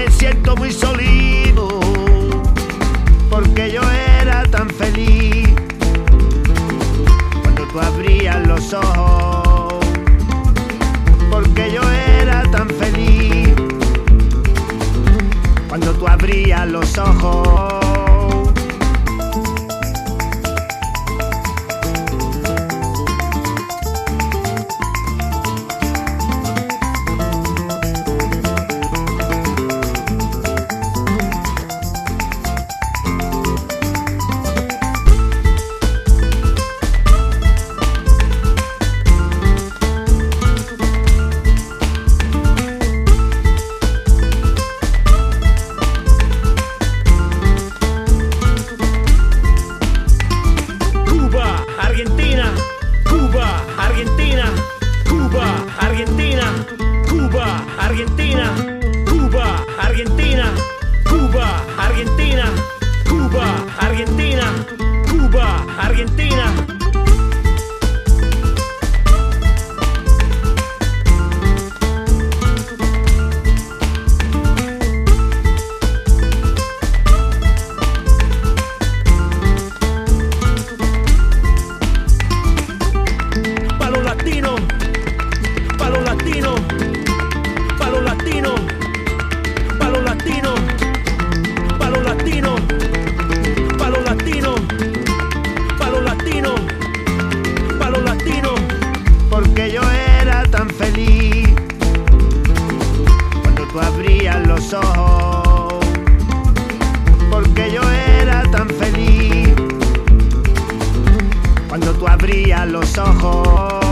me siento muy solito, porque yo era tan feliz cuando tú abrías los ojos, porque yo era tan feliz cuando tú abrías los ojos. Argentina, Cuba, Argentina, Cuba, Argentina, Cuba, Argentina, Cuba, Argentina, Cuba, Argentina, Cuba, Argentina, Cuba, Argentina. Porque yo era tan feliz cuando tú abrías los ojos, porque yo era tan feliz cuando tú abrías los ojos.